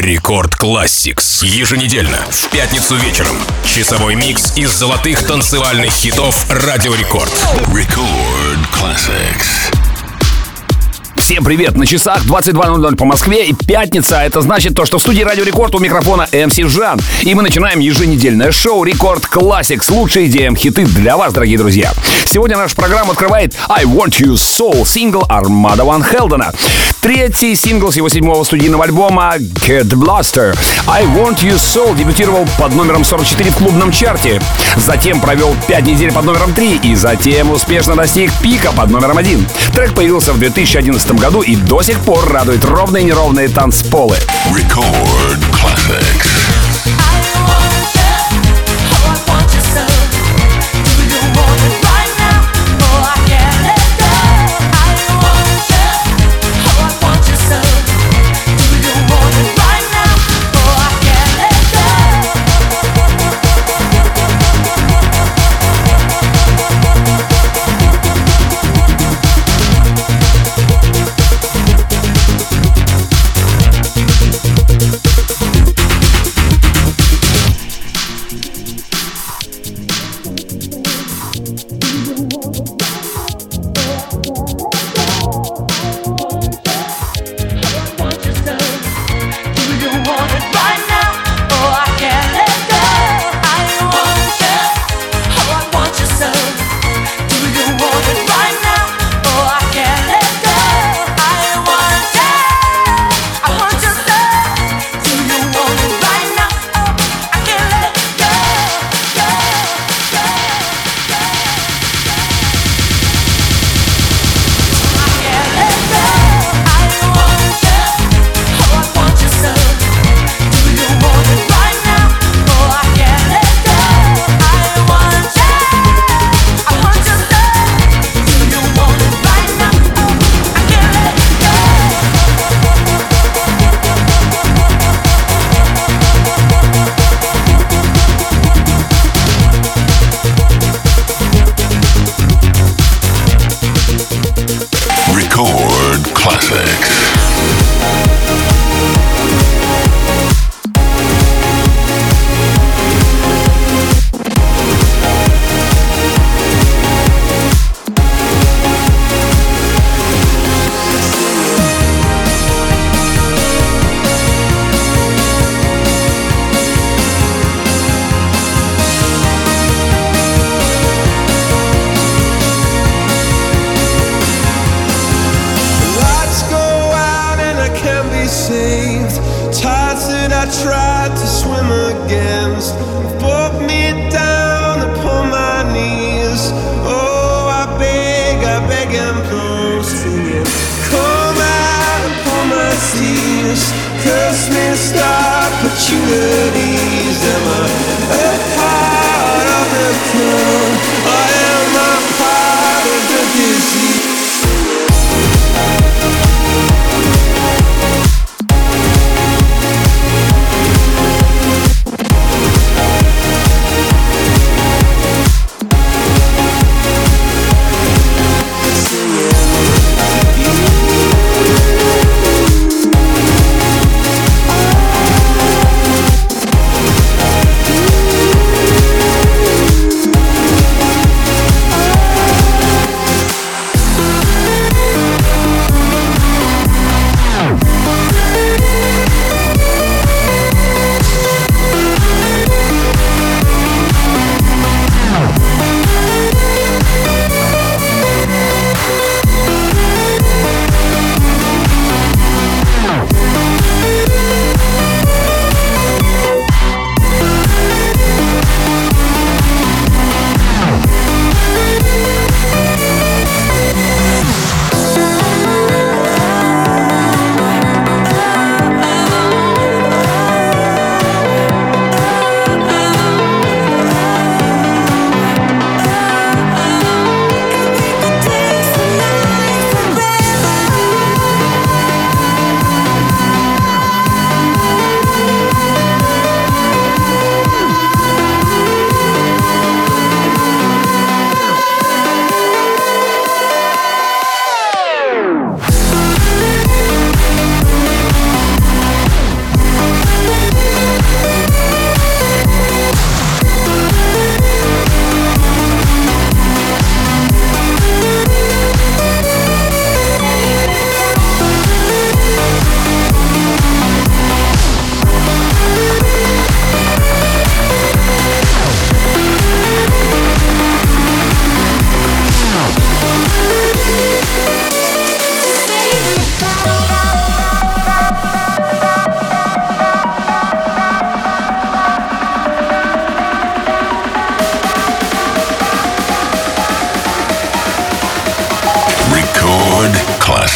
Рекорд Classics. Еженедельно, в пятницу вечером. Часовой микс из золотых танцевальных хитов Радио Рекорд. Record Classics. Всем привет! На часах 22:00 по Москве и пятница. Это значит то, что в студии Радио Рекорд у микрофона МС Жан. И мы начинаем еженедельное шоу Рекорд Classics. Лучшие EDM-хиты для вас, дорогие друзья. Сегодня нашу программу открывает I Want You Soul, сингл Армада Ван Хелдена. Третий сингл с его 7-го студийного альбома Cat Blaster. I Want You Soul дебютировал под номером 44 в клубном чарте. Затем провел 5 недель под номером 3 и затем успешно достиг пика под номером 1. Трек появился в 2011 году и до сих пор радует ровные и неровные танцполы. Record Classics.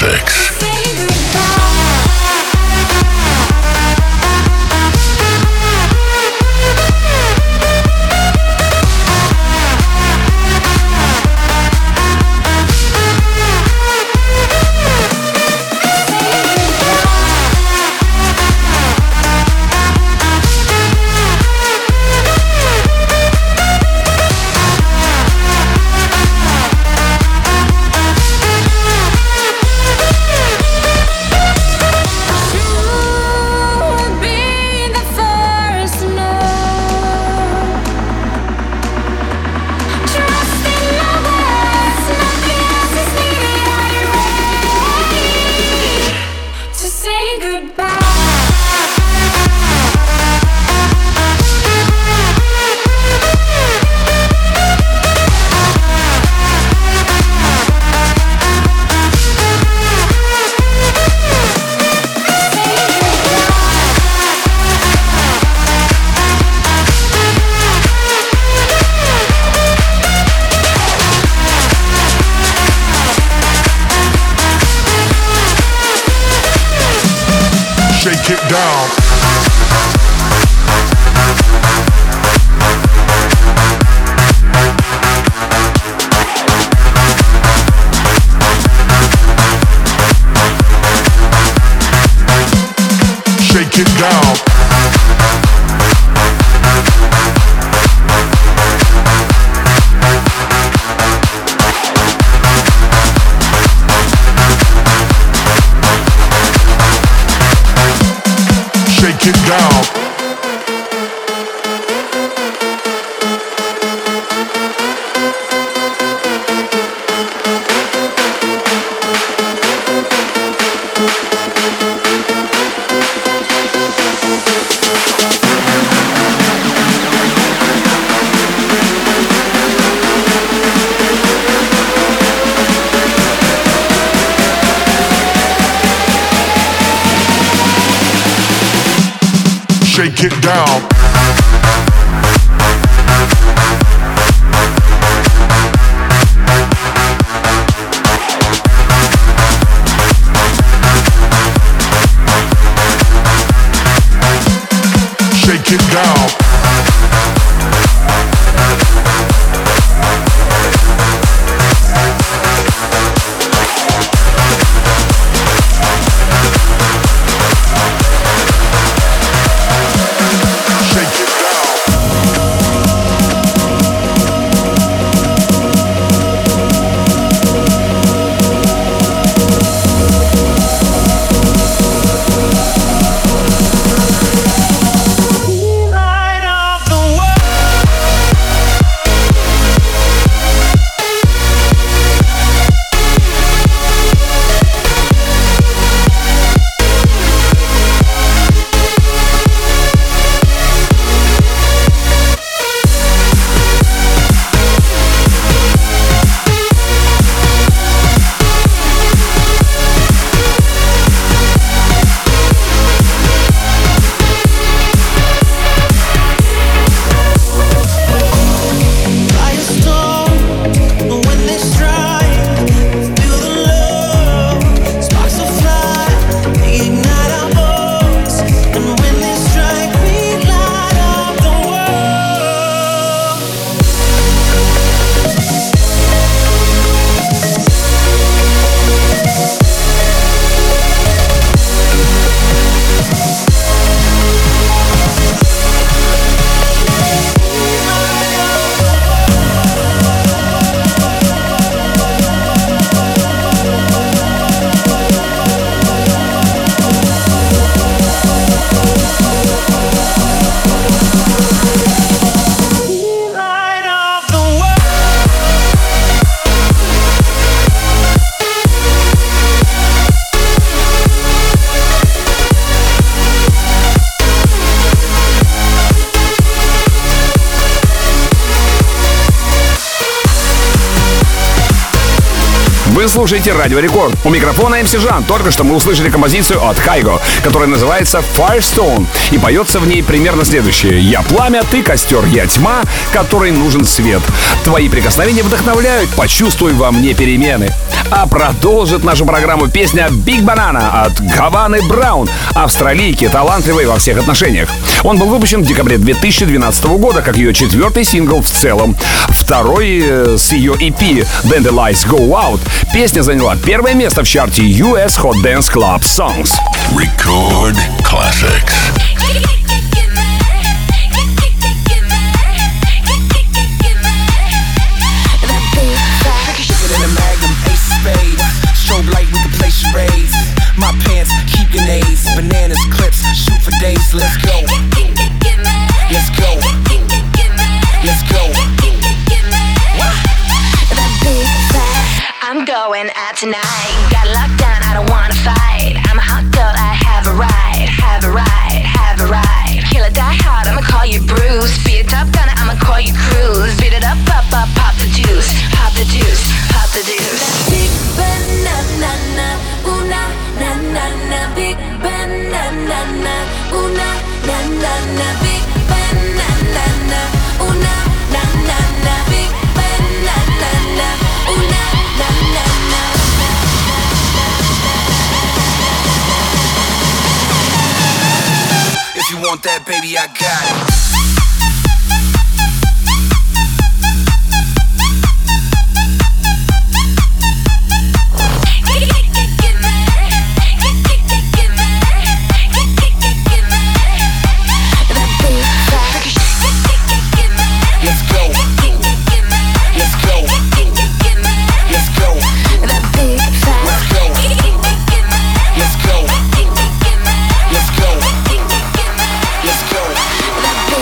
Classics. Shake it down. Shake it down. Shake it down. Shake it down. Shake it down. Light слушаете Радио Рекорд. У микрофона МС Жан. Только что мы услышали композицию от Кайго, которая называется Firestone. И поется в ней примерно следующее. Я пламя, ты костер, я тьма, которой нужен свет. Твои прикосновения вдохновляют, почувствуй во мне перемены. А продолжит нашу программу песня Big Banana от Гаваны Браун, австралийки, талантливой во всех отношениях. Он был выпущен в декабре 2012 года как ее четвертый сингл в целом. Второй с ее EP Then the Lights Go Out. Песня заняла первое место в чарте US Hot Dance Club Songs. Record classics. Strobe light, we can play charades. My pants keep grenades. Bananas, clips, shoot for days. Let's go. Let's go. Let's go. I'm going out tonight. Got locked down, I don't wanna fight. I'm a hot girl, I have a ride. Have a ride, have a ride. Kill or die hard, I'ma call you Bruce. Be a top gunner, I'ma call you Cruise. Beat it up, pop, pop, pop the juice. Pop the juice, pop the juice. Big banana, ooh na na na na. Big banana, ooh na na na na. Big banana, ooh na na na na. Big banana, ooh na na na na. If you want that, baby, I got it. That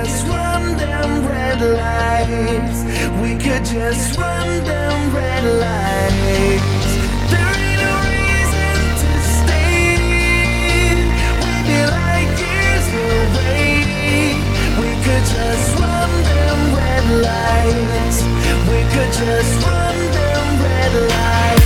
just run them red lights. We could just run them red lights. There ain't no reason to stay. We'd be like years away. We could just run them red lights. We could just run them red lights.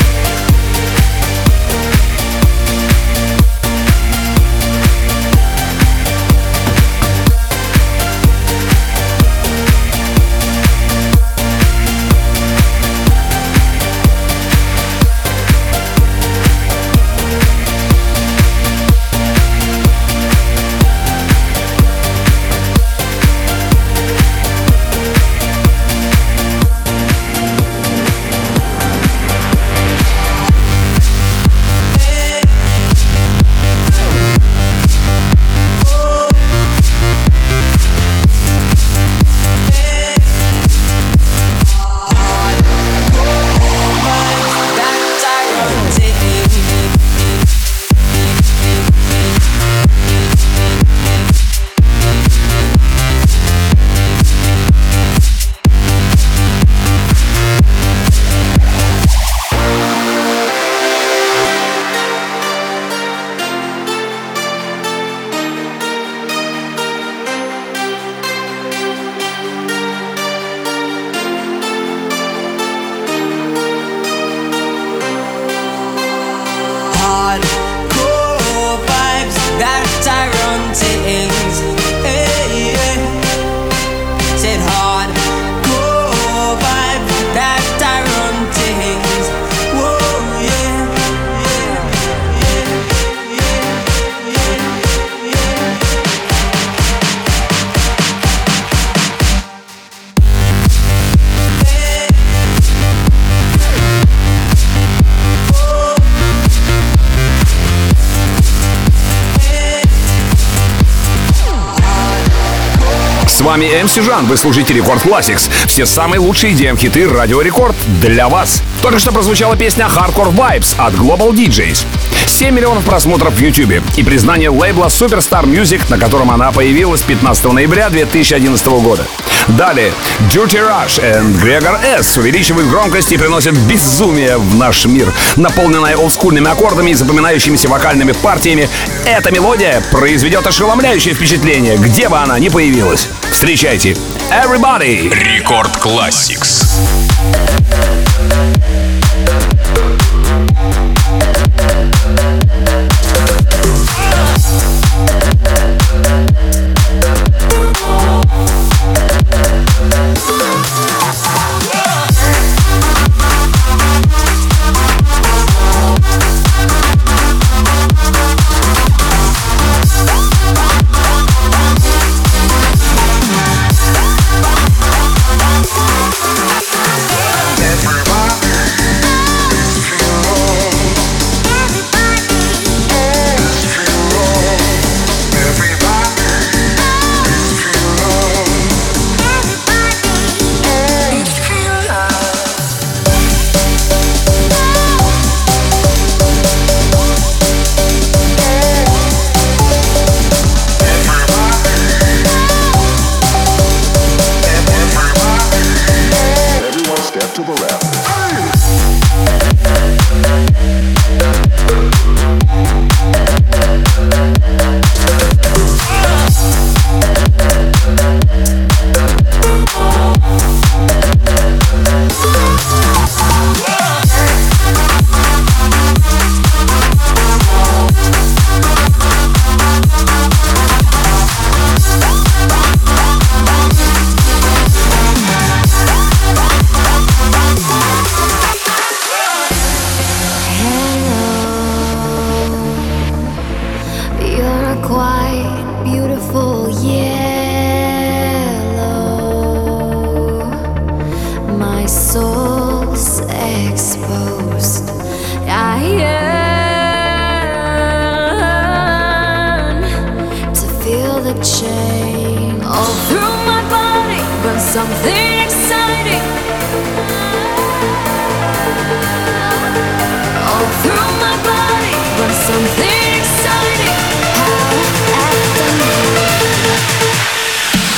С вами MC Жан, вы слушаете Рекорд Classics. Все самые лучшие EDM-хиты Радио Рекорд для вас. Только что прозвучала песня Hardcore Vibes от Global DJs. 7 миллионов просмотров в YouTube и признание лейбла Superstar Music, на котором она появилась 15 ноября 2011 года. Далее Dirty Rush и Gregor S увеличивают громкость и приносят безумие в наш мир. Наполненная олдскульными аккордами и запоминающимися вокальными партиями, эта мелодия произведет ошеломляющее впечатление, где бы она ни появилась. Встречайте Everybody! Рекорд Classics. Something exciting all through my body, but something exciting. How after me.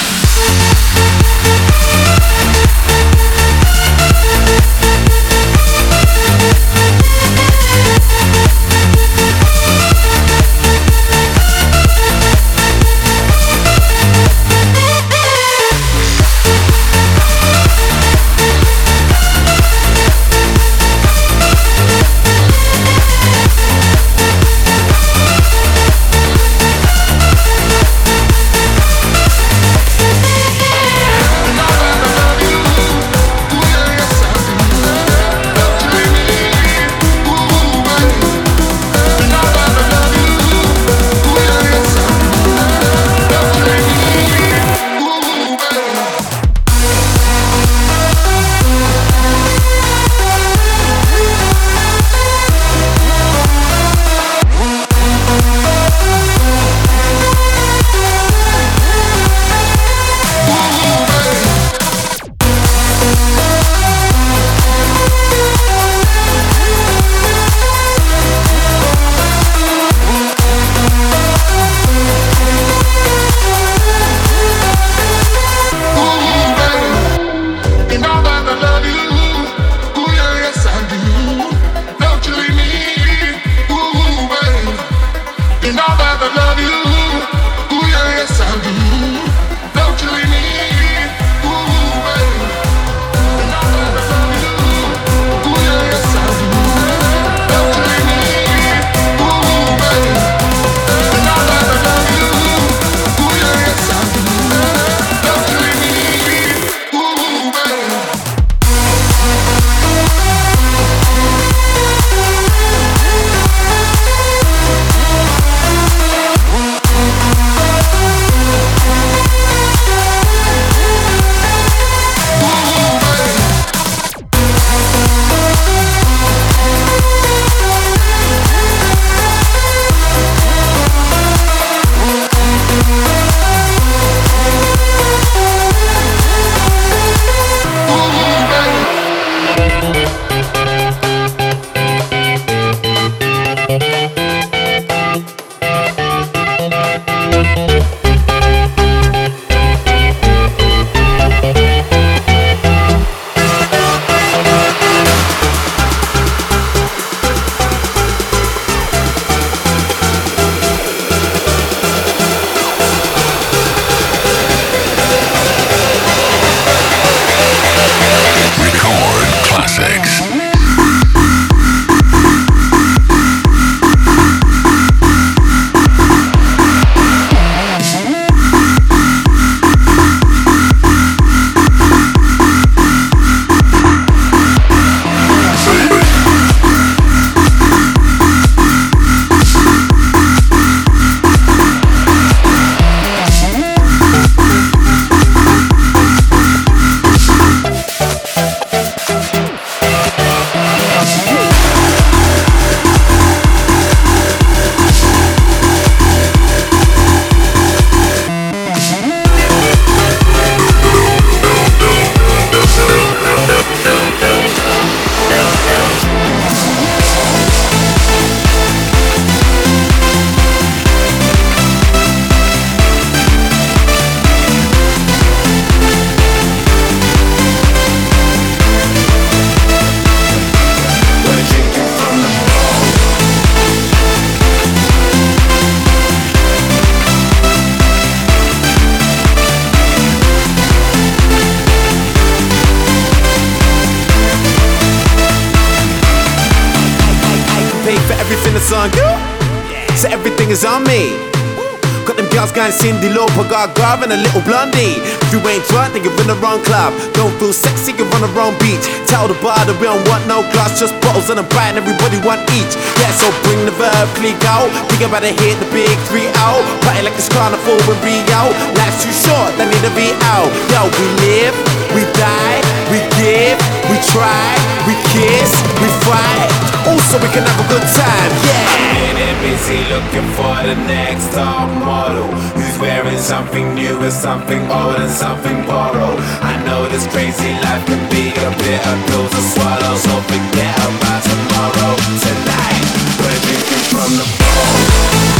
it's on you. So everything is on me. Got them girls going Cindy Lauper, got Garv and a little blondie. If you ain't drunk, then you're in the wrong club. Don't feel sexy, you're on the wrong beach. Tell the bar that we don't want no glass, just bottles and a bite, and everybody want each. Yeah, so bring the verb, click out. Think about to hit the big 3-0. Party like it's carnival in Rio. Life's too short, they need to be out. Yo, we live, we die, we give, we try, we kiss, we fight. Also, we can have a good time, yeah. I'm busy looking for the next top model who's wearing something new and something old and something borrowed. I know this crazy life can be a bitter pill to swallow, so forget about tomorrow. Tonight, we're drinking from the bowl.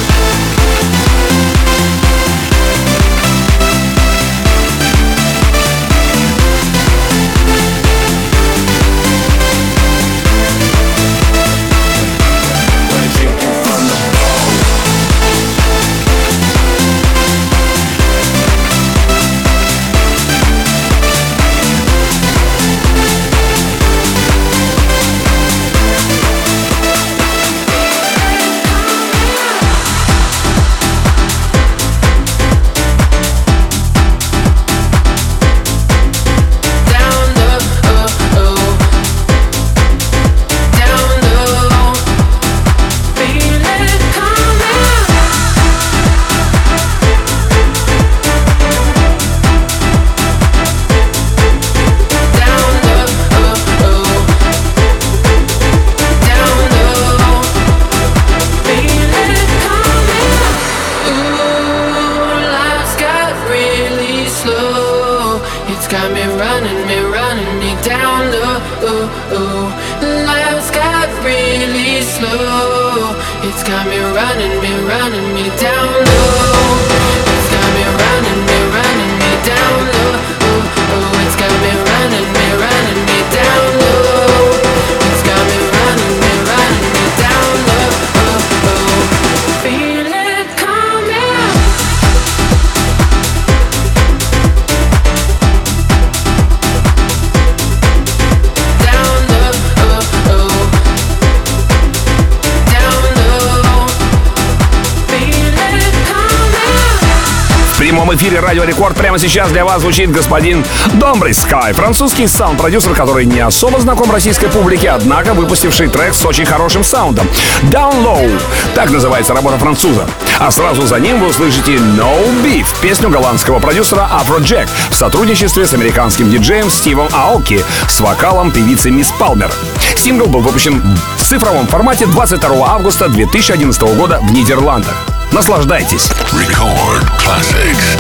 В эфире Радио Рекорд прямо сейчас для вас звучит господин Домбрый Скай, французский саунд-продюсер, который не особо знаком российской публике, однако выпустивший трек с очень хорошим саундом. Down Low, так называется работа француза. А сразу за ним вы услышите No Beef, песню голландского продюсера Afrojack в сотрудничестве с американским диджеем Стивом Аоки с вокалом певицы Мисс Палмер. Сингл был выпущен в цифровом формате 22 августа 2011 года в Нидерландах. Наслаждайтесь. Record classics.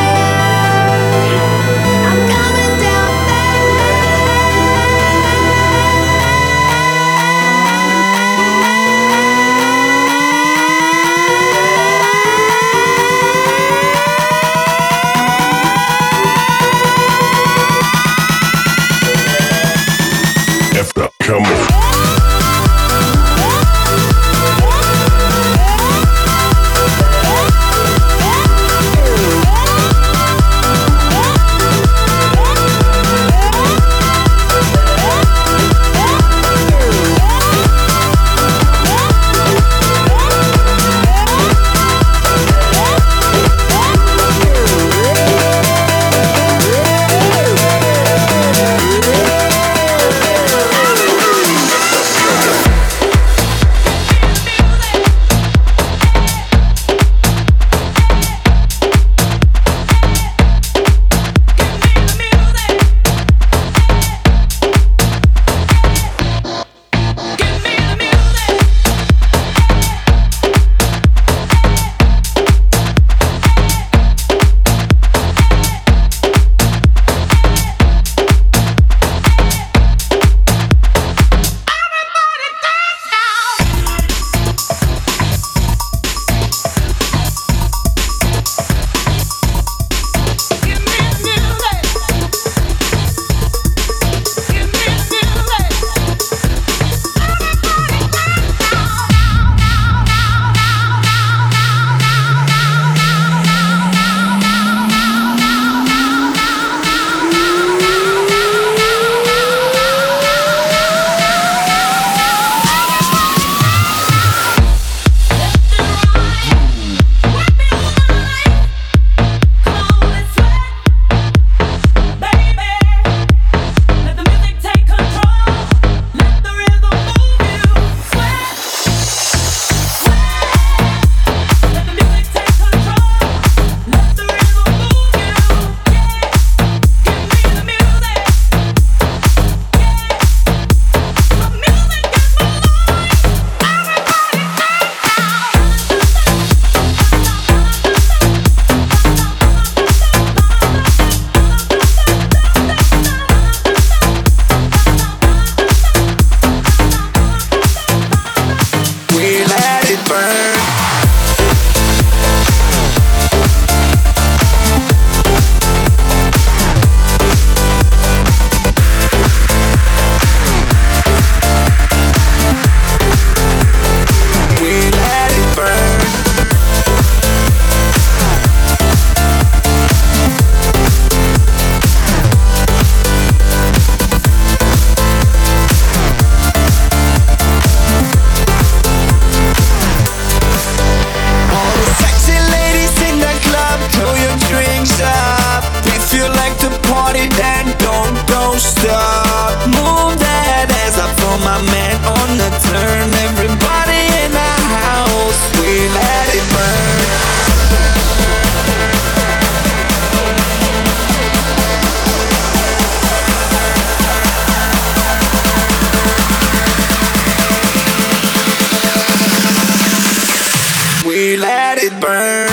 I'm coming down fast. you like to party, then don't stop. Move that ass up for my man on the turn. Everybody in the house, we let it burn. We let it burn.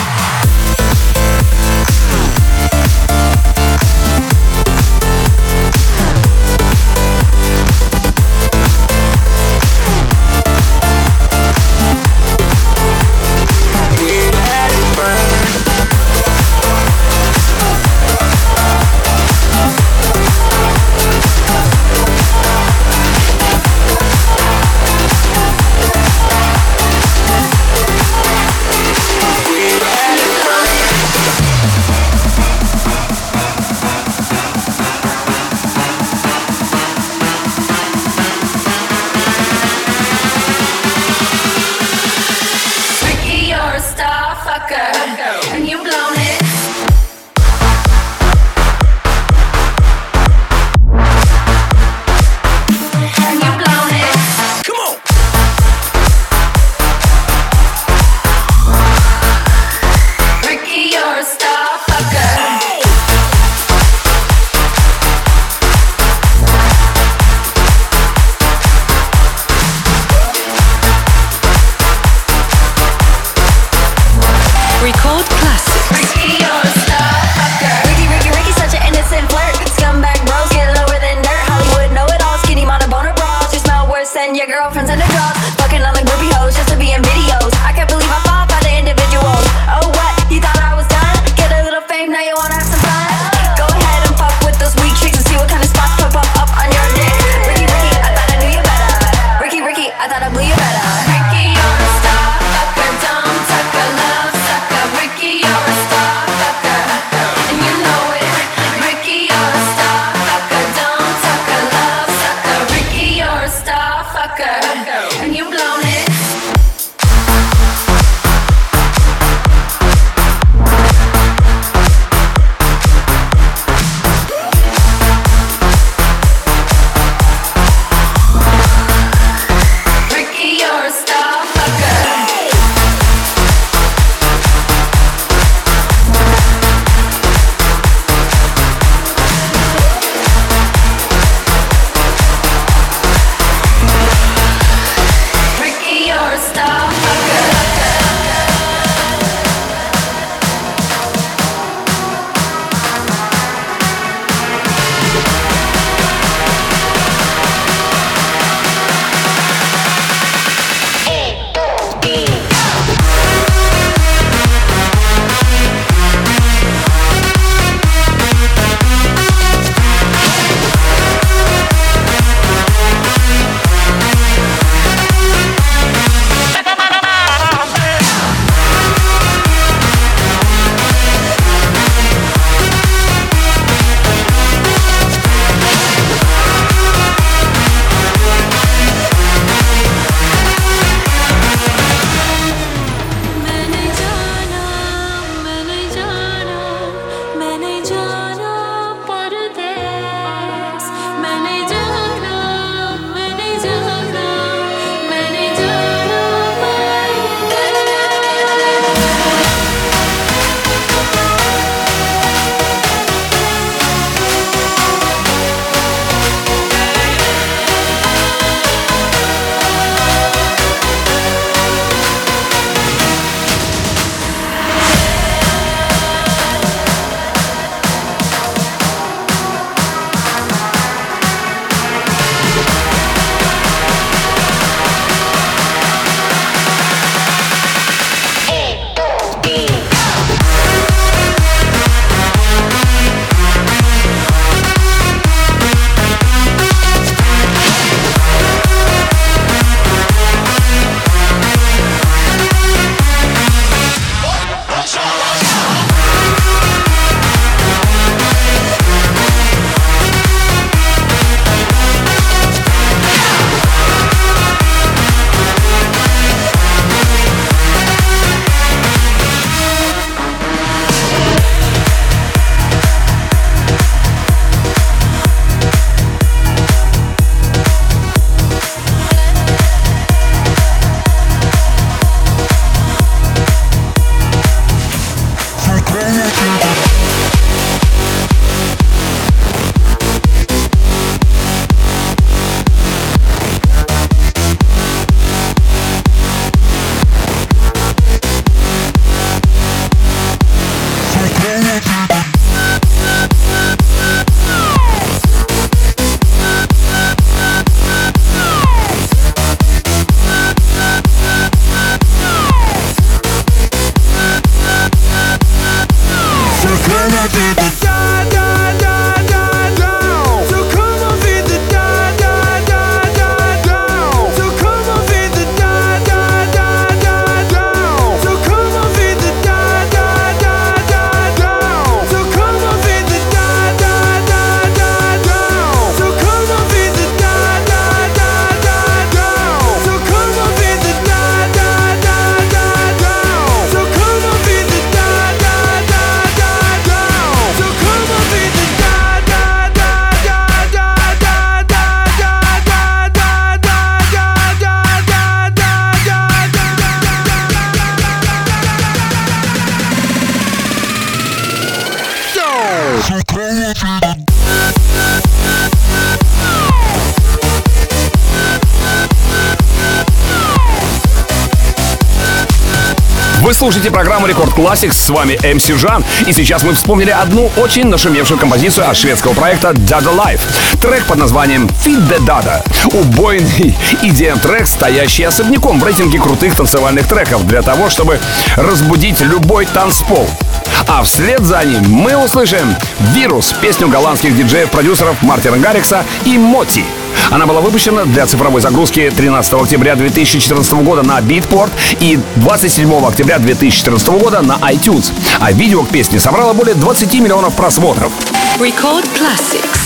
Вы слушаете программу Рекорд Classics, с вами MC Жан, и сейчас мы вспомнили одну очень нашумевшую композицию от шведского проекта Dada Life. Трек под названием Feed the Dada. Убойный EDM-трек, стоящий особняком в рейтинге крутых танцевальных треков для того, чтобы разбудить любой танцпол. А вслед за ним мы услышим «Вирус», песню голландских диджеев-продюсеров Мартина Гаррикса и Моти. Она была выпущена для цифровой загрузки 13 октября 2014 года на Beatport и 27 октября 2014 года на iTunes. А видео к песне собрало более 20 миллионов просмотров. Record Classics.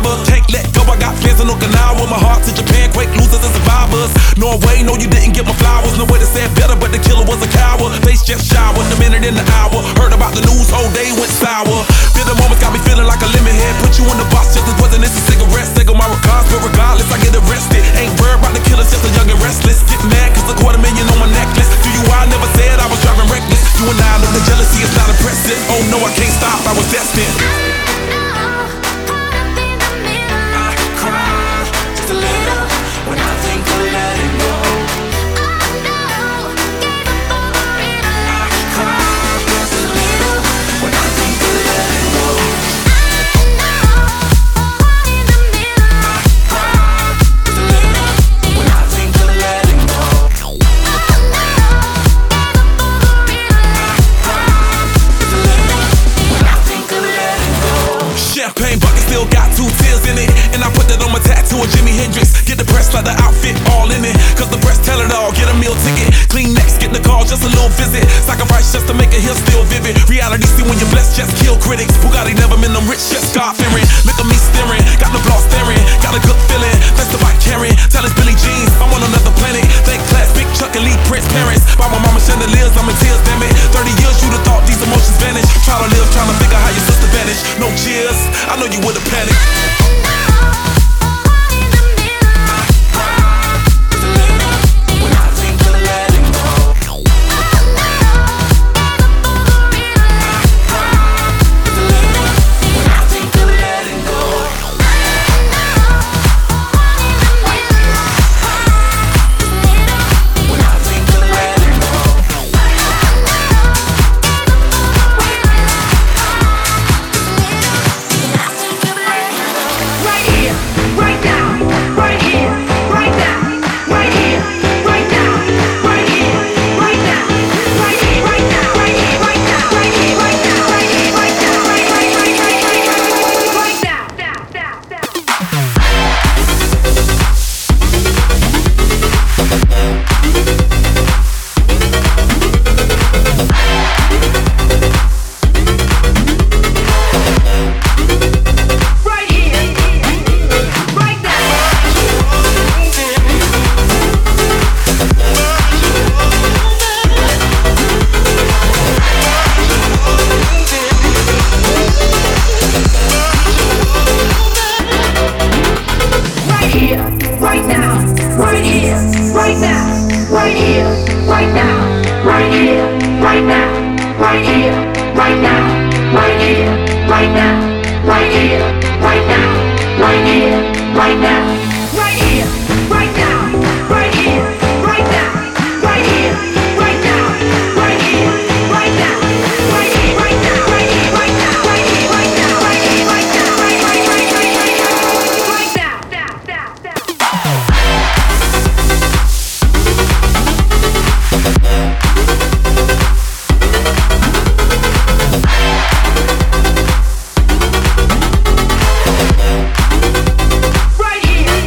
driver. Can't let go, I got plans in Okinawa. My heart to Japan, quake losers and survivors. Norway, no, you didn't get my flowers. No way to say it better, but the killer was a coward. Face just showered, the minute in the hour. Heard about the news, whole day went sour. Bitter moments got me feeling like a lemon head. Put you in the box just as wasn't this a cigarette. Take on my regards, but regardless, I get arrested. Ain't worried about the killers, just a young and restless. Get mad cause $250,000 on my necklace. Do you I never said I was driving reckless. You and I know the jealousy is not impressive. Oh no, I can't stop, I was destined. I cry just a little when I think of letting go. I cry just a little when I think of letting go. Champagne bucket still got 2 tears in it. And I put that on my tattoo of Jimi Hendrix. Get the press like the outfit all in it. Cause the press tell it all, get a meal ticket. Clean next, get the call, just a little visit. Sacrifice just to make a hill still vivid. Reality see when you're blessed, just kill critics. Bugatti never been them rich, just God fearing. Look at me staring, got the flaw staring. Got a good feeling, that's the bike carrying. Tell it's Billie Jeans, I'm on another planet. Thank class, Big Chuck and Lee Prince parents. By my mama chandeliers, I'm in tears, damn it. 30 years you'd have thought these emotions vanish. Try to live, trying to figure how your sister vanished. No cheers, I know you would've panicked. Right here.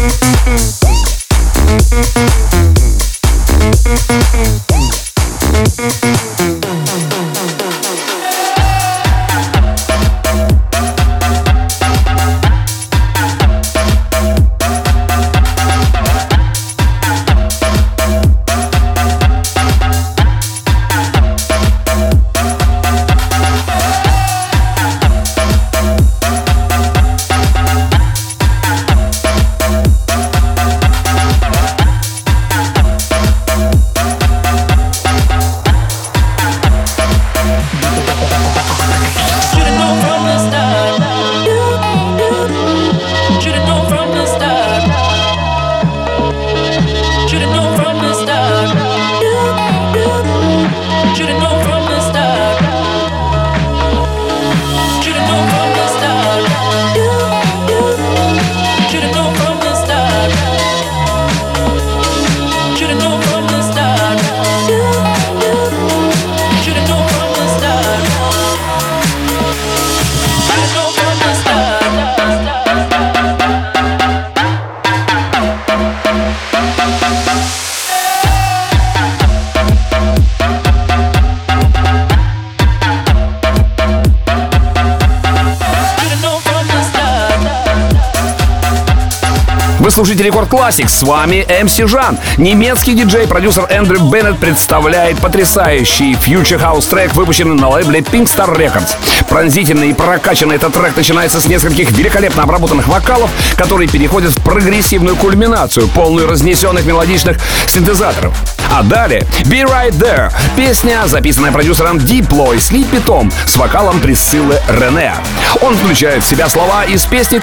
Вы слушаете Рекорд Classics, с вами MC Жан. Немецкий диджей-продюсер Эндрю Беннет представляет потрясающий Future House трек, выпущенный на лейбле Pink Star Records. Пронзительный и прокачанный этот трек начинается с нескольких великолепно обработанных вокалов, которые переходят в прогрессивную кульминацию, полную разнесенных мелодичных синтезаторов. А далее Be Right There, песня, записанная продюсером Diplo и Sleepy Tom с вокалом Присциллы Рене. Он включает в себя слова из песни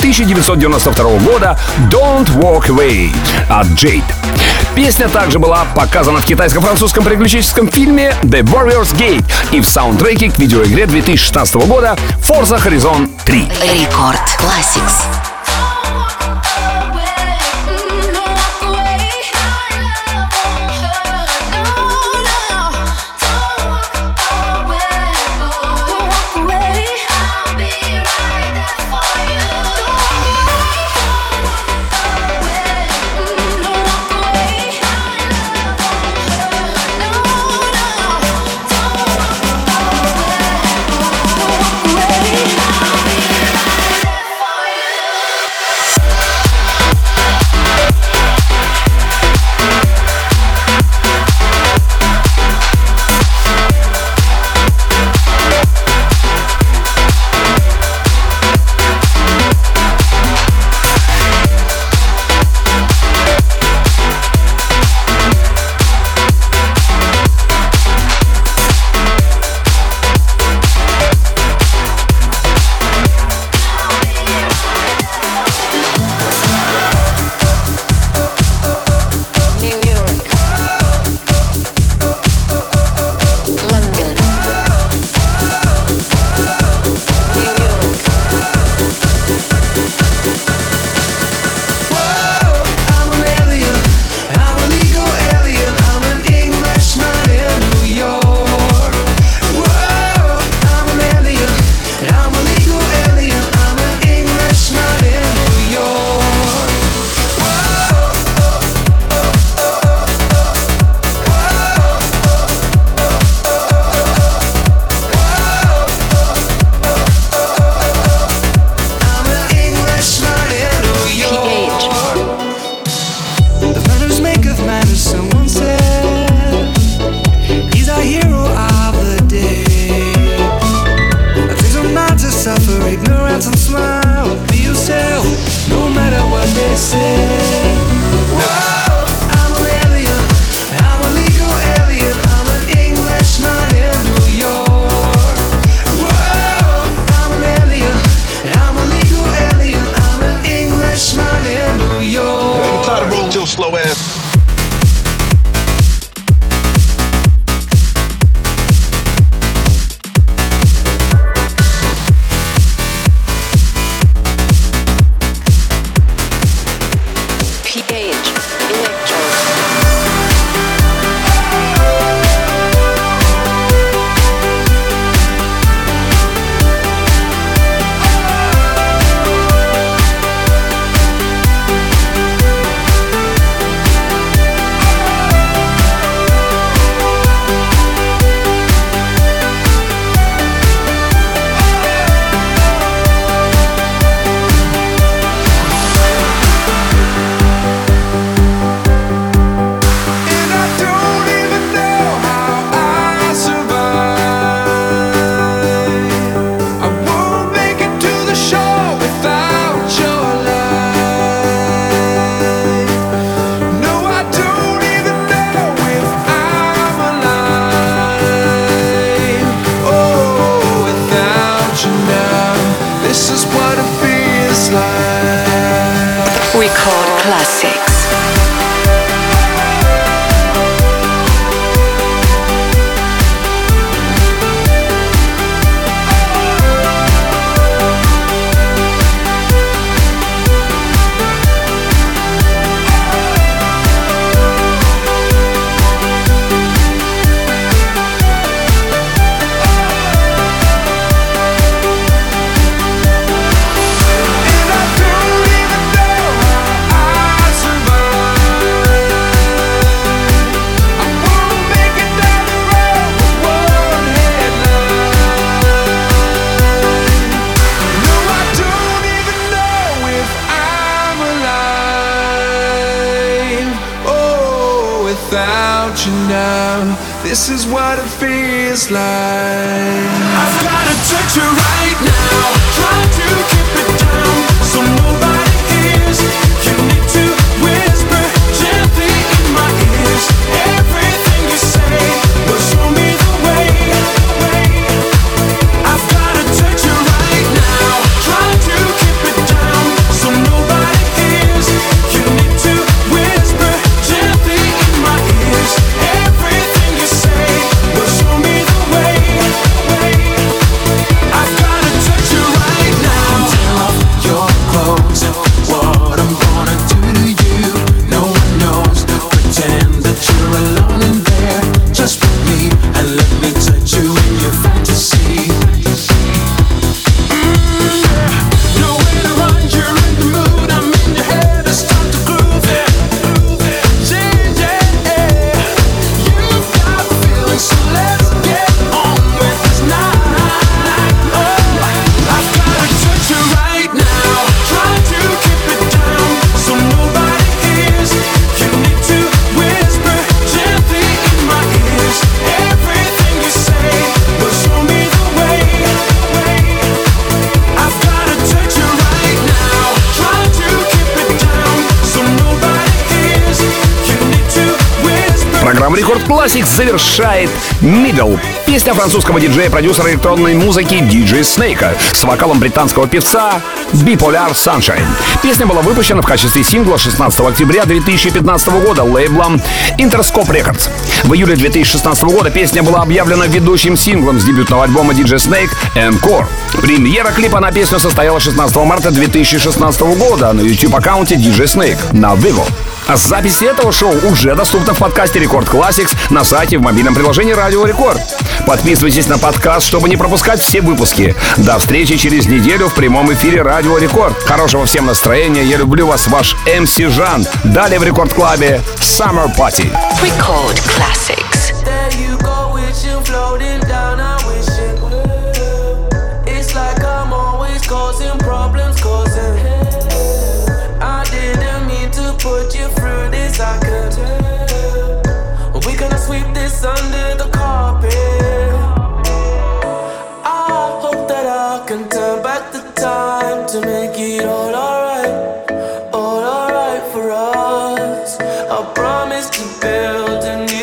1992 года Don't Walk Away от Jade. Песня также была показана в китайско-французском приключенческом фильме The Warrior's Gate и в саундтреке к видеоигре 2016 года Forza Horizon 3. Рекорд Classics. without you now. This is what it feels like. I've gotta touch you right now, try to keep it down so nobody hears. You need to whisper gently in my ears. Everything you say will show me the way. I've gotta touch you right now, try to keep it down so nobody hears. You need to whisper gently in my ears. Everything you say will show me the way. I've gotta touch you right now. Tear off your clothes. What I'm gonna do to you, no one knows. Pretend that you're alone in there, just with me, and let me touch you in your fantasy. Nowhere to run, you're in the mood. I'm in your head, it's time to groove it. Yeah. You've got feelings, so let's get on with this night. Oh, I've gotta touch you right now. Try to keep it down so nobody hears. You need to whisper gently in my ears. Everything you say will show me the way. I've gotta touch you right now. Try to keep it down so nobody hears. You need to whisper. Программа Рекорд Classics завершает Middle. Песня французского диджея, продюсера электронной музыки DJ Snake с вокалом британского певца Bipolar Sunshine. Песня была выпущена в качестве сингла 16 октября 2015 года лейблом Interscope Records. В июле 2016 года песня была объявлена ведущим синглом с дебютного альбома DJ Snake Encore. Премьера клипа на песню состоялась 16 марта 2016 года на YouTube-аккаунте DJ Snake на Vivo. А запись этого шоу уже доступна в подкасте Рекорд Classics на сайте и в мобильном приложении Радио Рекорд. Подписывайтесь на подкаст, чтобы не пропускать все выпуски. До встречи через неделю в прямом эфире Радио Рекорд. Хорошего всем настроения. Я люблю вас, ваш MC Жан. Далее в Рекорд Клабе Summer Party. Record Classics. There you go, wishing, floating down, I wish it. It's like I'm always causing problems, causing. I didn't mean to put you through this, I could. We're gonna sweep this under the carpet. I hope that I can turn back the time to make it all alright for us. I promise to build a new